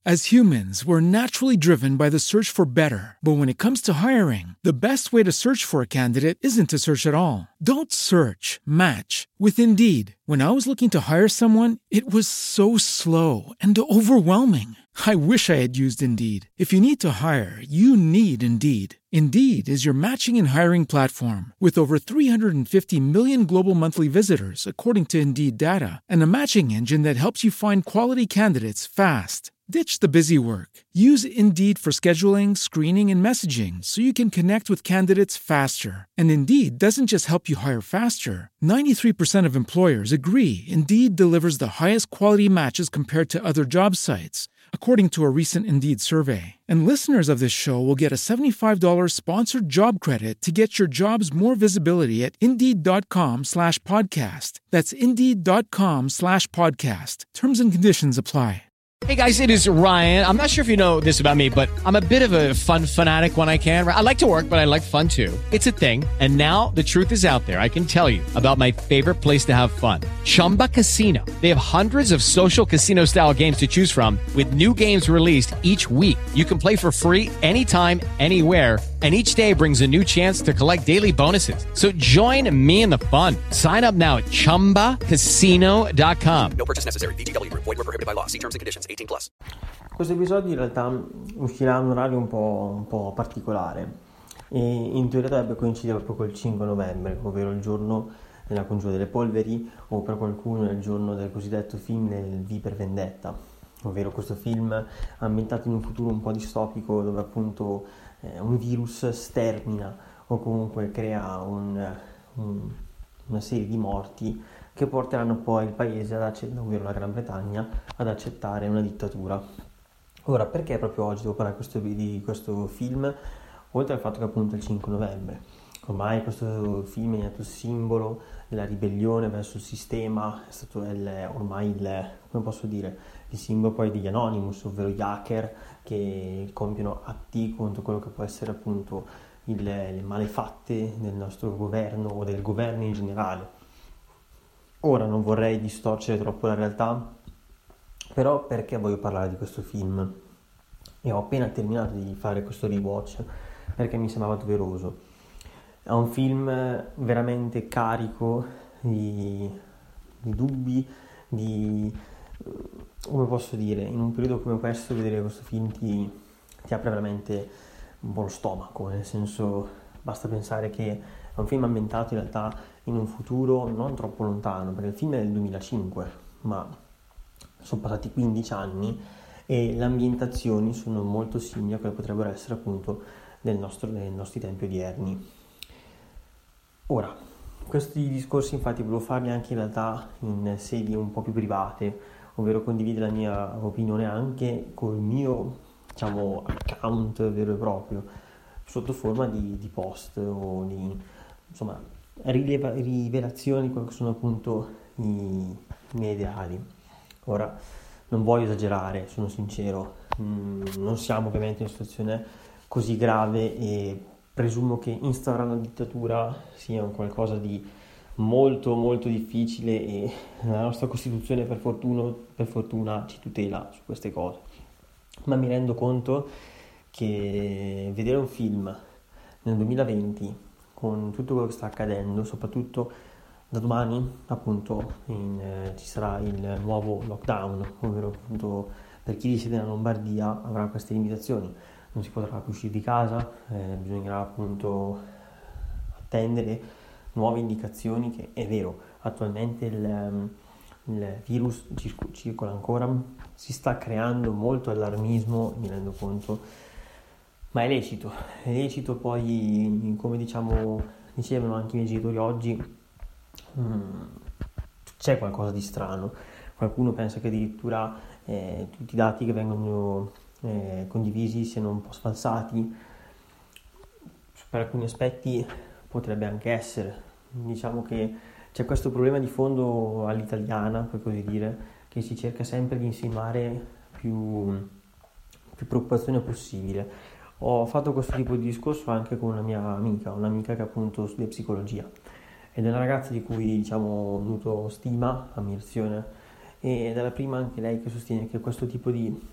As humans, we're naturally driven by the search for better. But when it comes to hiring, the best way to search for a candidate isn't to search at all. Don't search, match with Indeed. When I was looking to hire someone, it was so slow and overwhelming. I wish I had used Indeed. If you need to hire, you need Indeed. Indeed is your matching and hiring platform with over 350 million global monthly visitors, according to Indeed data, and a matching engine that helps you find quality candidates fast. Ditch the busy work. Use Indeed for scheduling, screening, and messaging so you can connect with candidates faster. And Indeed doesn't just help you hire faster. 93% of employers agree Indeed delivers the highest quality matches compared to other job sites, according to a recent Indeed survey. And listeners of this show will get a $75 sponsored job credit to get your jobs more visibility at Indeed.com/podcast. That's Indeed.com/podcast. Terms and conditions apply. Hey guys, it is Ryan. I'm not sure if you know this about me, but I'm a bit of a fun fanatic when I can. I like to work, but I like fun too. It's a thing. And now the truth is out there. I can tell you about my favorite place to have fun. Chumba Casino. They have hundreds of social casino style games to choose from with new games released each week. You can play for free anytime, anywhere. And each day brings a new chance to collect daily bonuses. So join me in the fun. Sign up now at ChumbaCasino.com. No purchase necessary. VGW Group. Void where prohibited by law. See terms and conditions. 18+. Questo episodio in realtà uscirà a un orario un po' particolare e in teoria dovrebbe coincidere proprio col 5 novembre, ovvero il giorno della congiura delle polveri, o per qualcuno è il giorno del cosiddetto film del V per Vendetta, ovvero questo film ambientato in un futuro un po' distopico dove appunto un virus stermina o comunque crea una serie di morti che porteranno poi il paese, ovvero la Gran Bretagna, ad accettare una dittatura. Ora, perché proprio oggi devo parlare di questo film? Oltre al fatto che appunto è il 5 novembre, ormai questo film è diventato simbolo della ribellione verso il sistema, è stato ormai come posso dire, il simbolo poi degli Anonymous, ovvero gli hacker che compiono atti contro quello che può essere appunto le malefatte del nostro governo o del governo in generale. Ora non vorrei distorcere troppo la realtà, però perché voglio parlare di questo film? E ho appena terminato di fare questo rewatch perché mi sembrava doveroso. È un film veramente carico di dubbi, come posso dire, in un periodo come questo vedere questo film ti apre veramente un po' lo stomaco, nel senso basta pensare che è un film ambientato in realtà in un futuro non troppo lontano, perché il film è del 2005, ma sono passati 15 anni e le ambientazioni sono molto simili a quelle che potrebbero essere appunto nei nostri tempi odierni. Ora, questi discorsi infatti volevo farli anche in realtà in sedi un po' più private, ovvero condividere la mia opinione anche col mio, diciamo, account vero e proprio, sotto forma di post o di, insomma, rivelazioni di quelli che sono appunto i miei ideali. Ora, non voglio esagerare, sono sincero, non siamo ovviamente in una situazione così grave e presumo che instaurare una dittatura sia un qualcosa di molto molto difficile e la nostra Costituzione per fortuna ci tutela su queste cose, ma mi rendo conto che vedere un film nel 2020 con tutto quello che sta accadendo, soprattutto da domani appunto ci sarà il nuovo lockdown, ovvero appunto per chi risiede nella Lombardia avrà queste limitazioni, non si potrà più uscire di casa, bisognerà appunto attendere nuove indicazioni, che è vero, attualmente il virus circola ancora, si sta creando molto allarmismo, mi rendo conto, ma è lecito poi, come dicevano anche i miei genitori oggi, c'è qualcosa di strano, qualcuno pensa che addirittura tutti i dati che vengono condivisi siano un po' sfalsati, per alcuni aspetti potrebbe anche essere, diciamo che c'è questo problema di fondo all'italiana, per così dire, che si cerca sempre di insinuare più preoccupazione possibile. Ho fatto questo tipo di discorso anche con una mia amica, che appunto studia psicologia ed è una ragazza di cui ho avuto stima, ammirazione, ed è la prima anche lei che sostiene che questo tipo di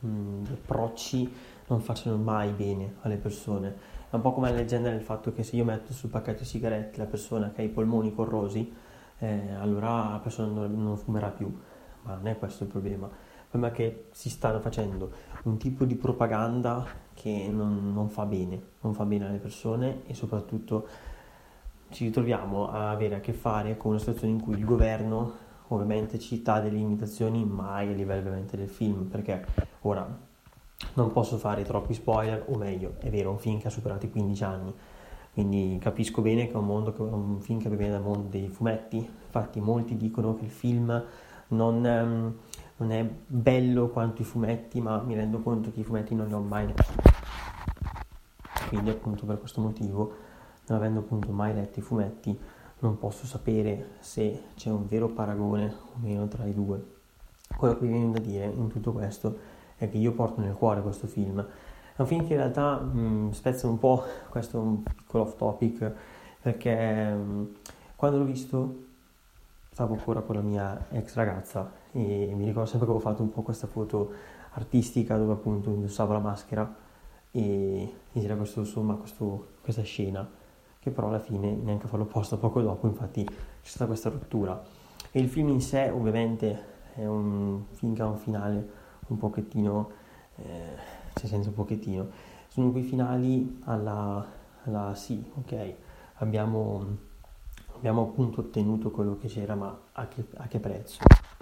gli approcci non facciano mai bene alle persone. È un po' come la leggenda del fatto che se io metto sul pacchetto di sigarette la persona che ha i polmoni corrosi, allora la persona non fumerà più, ma non è questo il problema. Il problema è che si stanno facendo un tipo di propaganda che non fa bene alle persone, e soprattutto ci ritroviamo a avere a che fare con una situazione in cui il governo ovviamente ci dà delle limitazioni, mai a livello ovviamente del film, perché ora non posso fare troppi spoiler, o meglio, è vero, è un film che ha superato i 15 anni, quindi capisco bene che è un film che viene dal mondo dei fumetti. Infatti molti dicono che il film non è bello quanto i fumetti, ma mi rendo conto che i fumetti non li ho mai letti, quindi appunto per questo motivo, non avendo appunto mai letto i fumetti, non posso sapere se c'è un vero paragone o meno tra i due. Quello che mi viene da dire in tutto questo è che io porto nel cuore questo film. È un film che in realtà spezza un po', questo è un piccolo off topic, perché quando l'ho visto stavo ancora con la mia ex ragazza e mi ricordo sempre che avevo fatto un po' questa foto artistica dove appunto indossavo la maschera e c'era questa scena, che però alla fine neanche a farlo apposta, poco dopo infatti c'è stata questa rottura. E il film in sé ovviamente è un film che ha un finale un pochettino, cioè senza un pochettino, sono quei finali alla sì, ok, abbiamo appunto ottenuto quello che c'era, ma a che prezzo?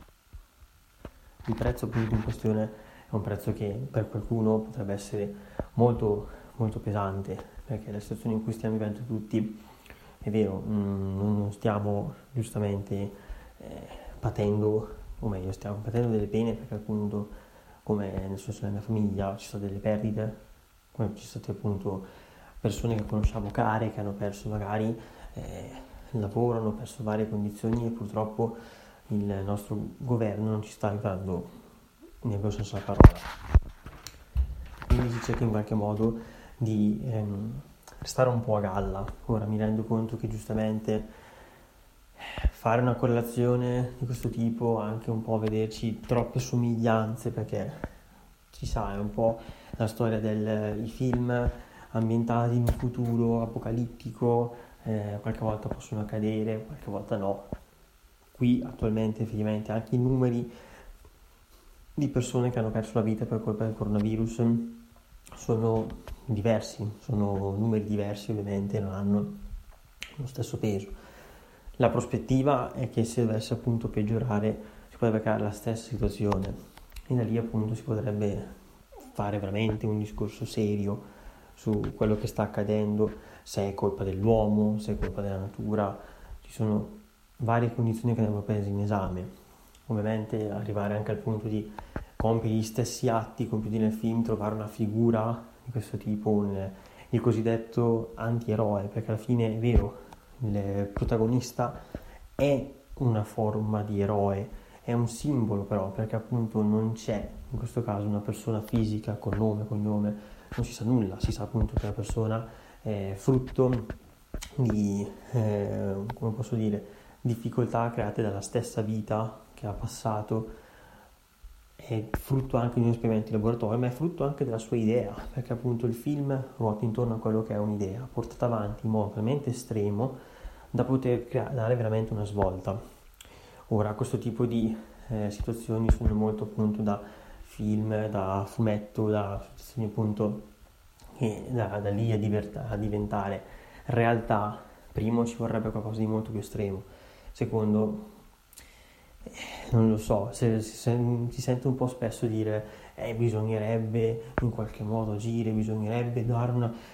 Il prezzo appunto in questione è un prezzo che per qualcuno potrebbe essere molto molto pesante, perché la situazione in cui stiamo vivendo tutti, è vero, non stiamo giustamente patendo, o meglio stiamo patendo delle pene, perché appunto, come nel senso della mia famiglia, ci sono delle perdite, come ci sono state appunto persone che conosciamo care, che hanno perso magari il lavoro, hanno perso varie condizioni, e purtroppo il nostro governo non ci sta aiutando nel vero senso della parola. Quindi si cerca in qualche modo di restare un po' a galla. Ora mi rendo conto che giustamente fare una correlazione di questo tipo, anche un po' vederci troppe somiglianze, perché ci sa, è un po' la storia dei film ambientati in un futuro apocalittico, qualche volta possono accadere, qualche volta no. Qui attualmente effettivamente anche i numeri di persone che hanno perso la vita per colpa del coronavirus sono diversi, sono numeri diversi, ovviamente non hanno lo stesso peso. La prospettiva è che se dovesse appunto peggiorare si potrebbe creare la stessa situazione, e da lì appunto si potrebbe fare veramente un discorso serio su quello che sta accadendo, se è colpa dell'uomo, se è colpa della natura. Ci sono varie condizioni che andrebbero prese in esame. Ovviamente arrivare anche al punto di compiere gli stessi atti compiuti nel film, trovare una figura di questo tipo, il cosiddetto antieroe, perché alla fine è vero, il protagonista è una forma di eroe, è un simbolo però, perché appunto non c'è in questo caso una persona fisica con nome, cognome, non si sa nulla, si sa appunto che la persona è frutto di, come posso dire, difficoltà create dalla stessa vita che ha passato, è frutto anche di un esperimento di laboratorio, ma è frutto anche della sua idea, perché appunto il film ruota intorno a quello che è un'idea portata avanti in modo talmente estremo da poter dare veramente una svolta. Ora, questo tipo di situazioni sono molto appunto da film, da fumetto, da situazioni appunto che da lì a diventare realtà. Primo, ci vorrebbe qualcosa di molto più estremo. Secondo, non lo so, si sente un po' spesso dire bisognerebbe in qualche modo agire, bisognerebbe dare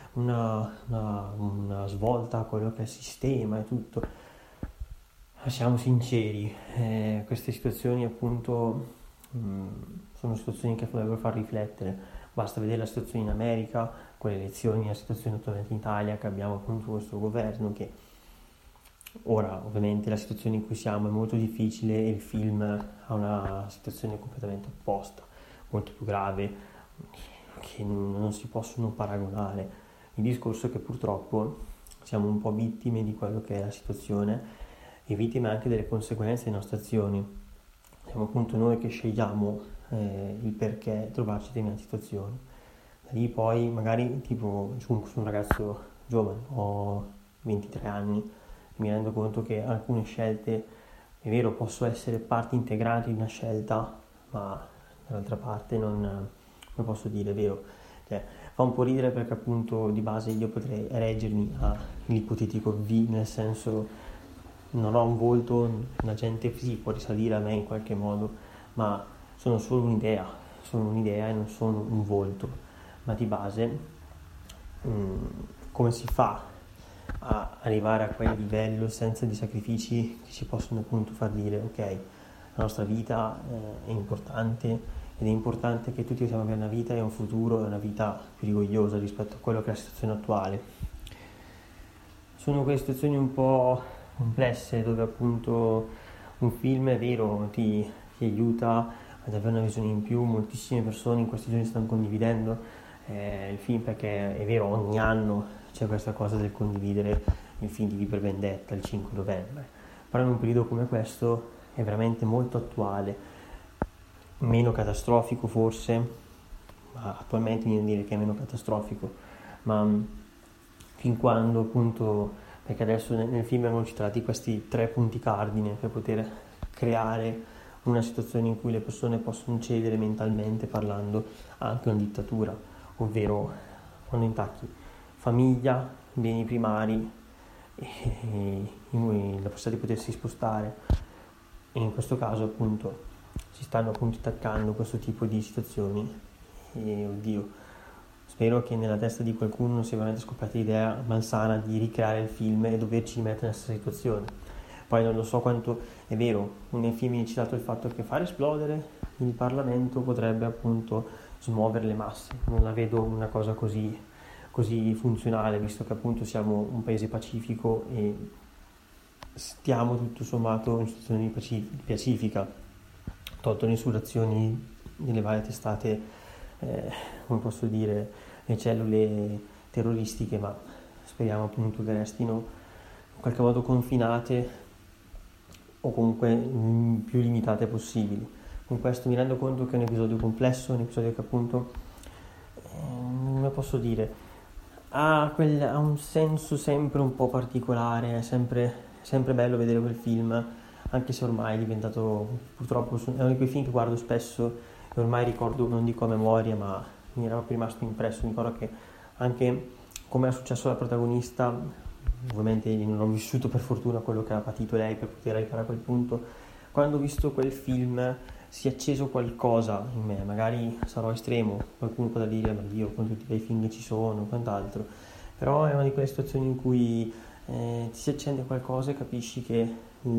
una svolta a quello che è il sistema e tutto. Ma siamo sinceri, queste situazioni appunto sono situazioni che dovrebbero far riflettere. Basta vedere la situazione in America con le elezioni, la situazione attualmente in Italia, che abbiamo appunto questo governo che ora ovviamente la situazione in cui siamo è molto difficile e il film ha una situazione completamente opposta, molto più grave, che non si possono paragonare. Il discorso è che purtroppo siamo un po' vittime di quello che è la situazione e vittime anche delle conseguenze delle nostre azioni. Siamo appunto noi che scegliamo il perché trovarci in determinate situazioni. Da lì poi magari tipo sono un ragazzo giovane, ho 23 anni, e mi rendo conto che alcune scelte, è vero, posso essere parte integrante di una scelta, ma dall'altra parte non posso dire, è vero, cioè, fa un po' ridere perché appunto di base io potrei reggermi all'ipotetico V, nel senso non ho un volto, la gente sì può risalire a me in qualche modo, ma sono solo un'idea e non sono un volto, ma di base come si fa a arrivare a quel livello senza dei sacrifici che ci possono appunto far dire ok, la nostra vita è importante ed è importante che tutti possiamo avere una vita e un futuro e una vita più rigogliosa rispetto a quello che è la situazione attuale. Sono quelle situazioni un po' complesse dove appunto un film, è vero, ti aiuta ad avere una visione in più. Moltissime persone in questi giorni stanno condividendo il film, perché è vero, ogni anno c'è questa cosa del condividere il film di V per Vendetta il 5 novembre, però in un periodo come questo è veramente molto attuale, meno catastrofico forse, ma attualmente viene a dire che è meno catastrofico, ma fin quando appunto, perché adesso nel film vengono citati questi 3 punti cardine per poter creare una situazione in cui le persone possono cedere mentalmente parlando anche una dittatura, ovvero quando intacchi famiglia, beni primari e la possibilità di potersi spostare, e in questo caso appunto si stanno appunto attaccando questo tipo di situazioni e oddio, spero che nella testa di qualcuno non sia veramente scoppiata l'idea malsana di ricreare il film e doverci mettere nella stessa situazione. Poi non lo so quanto è vero, nel film viene citato il fatto che far esplodere il Parlamento potrebbe appunto smuovere le masse. Non la vedo una cosa così funzionale, visto che appunto siamo un paese pacifico e stiamo tutto sommato in situazione pacifica, tolto le insurrezioni delle varie testate, come posso dire, le cellule terroristiche, ma speriamo appunto che restino in qualche modo confinate o comunque più limitate possibili. Con questo mi rendo conto che è un episodio complesso, un episodio che appunto, come posso dire, ha un senso sempre un po' particolare, è sempre bello vedere quel film, anche se ormai è diventato, purtroppo, è uno di quei film che guardo spesso e ormai ricordo, non dico a memoria, ma mi era rimasto impresso. Mi ricordo che anche come è successo alla protagonista, ovviamente non ho vissuto per fortuna quello che ha patito lei per poter arrivare a quel punto, quando ho visto quel film si è acceso qualcosa in me, magari sarò estremo, qualcuno potrà dire ma Dio, con tutti i bei film che ci sono, quant'altro, però è una di quelle situazioni in cui ti si accende qualcosa e capisci che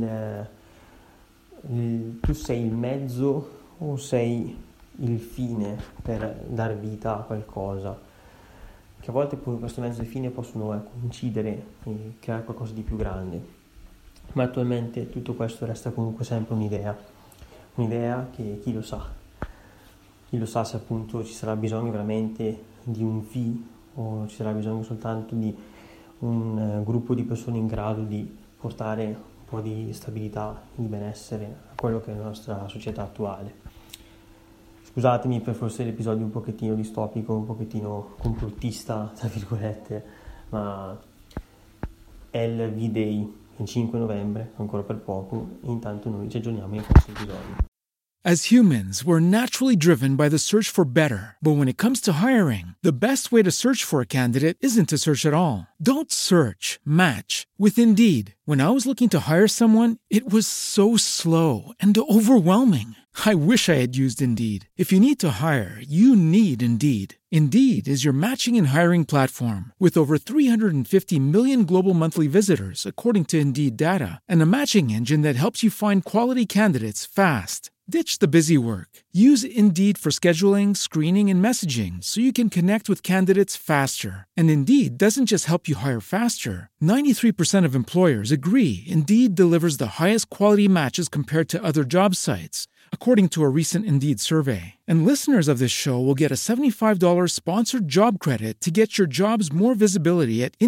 tu sei il mezzo o sei il fine per dar vita a qualcosa, che a volte questo mezzo e fine possono coincidere e creare qualcosa di più grande, ma attualmente tutto questo resta comunque sempre un'idea che chi lo sa se appunto ci sarà bisogno veramente di un V o ci sarà bisogno soltanto di un gruppo di persone in grado di portare un po' di stabilità e di benessere a quello che è la nostra società attuale. Scusatemi per forse l'episodio un pochettino distopico, un pochettino complottista, tra virgolette, ma è il V-Day, il 5 novembre, ancora per poco, e intanto noi ci aggiorniamo in questo episodio. As humans, we're naturally driven by the search for better. But when it comes to hiring, the best way to search for a candidate isn't to search at all. Don't search, match with Indeed. When I was looking to hire someone, it was so slow and overwhelming. I wish I had used Indeed. If you need to hire, you need Indeed. Indeed is your matching and hiring platform with over 350 million global monthly visitors, according to Indeed data, and a matching engine that helps you find quality candidates fast. Ditch the busy work. Use Indeed for scheduling, screening, and messaging so you can connect with candidates faster. And Indeed doesn't just help you hire faster. 93% of employers agree Indeed delivers the highest quality matches compared to other job sites, according to a recent Indeed survey. And listeners of this show will get a $75 sponsored job credit to get your jobs more visibility at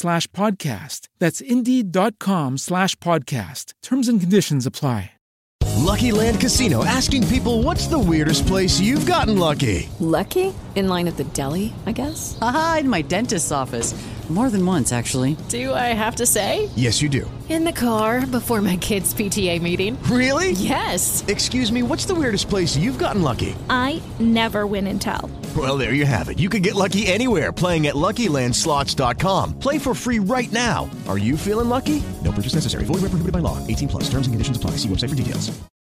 Indeed.com/podcast. That's Indeed.com/podcast. Terms and conditions apply. Lucky Land Casino, asking people, what's the weirdest place you've gotten lucky? Lucky? In line at the deli, I guess? Aha, in my dentist's office. More than once, actually. Do I have to say? Yes, you do. In the car before my kids' PTA meeting. Really? Yes. Excuse me, what's the weirdest place you've gotten lucky? I never win and tell. Well, there you have it. You can get lucky anywhere, playing at LuckyLandSlots.com. Play for free right now. Are you feeling lucky? No purchase necessary. Void where prohibited by law. 18+. Terms and conditions apply. See website for details.